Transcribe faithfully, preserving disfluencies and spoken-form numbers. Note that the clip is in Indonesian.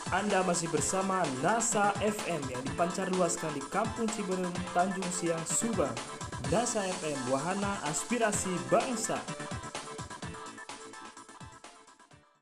Anda masih bersama NASA F M yang dipancar luaskan di Kampung Ciberem, Tanjung Siang, Subang. NASA F M, wahana aspirasi bangsa.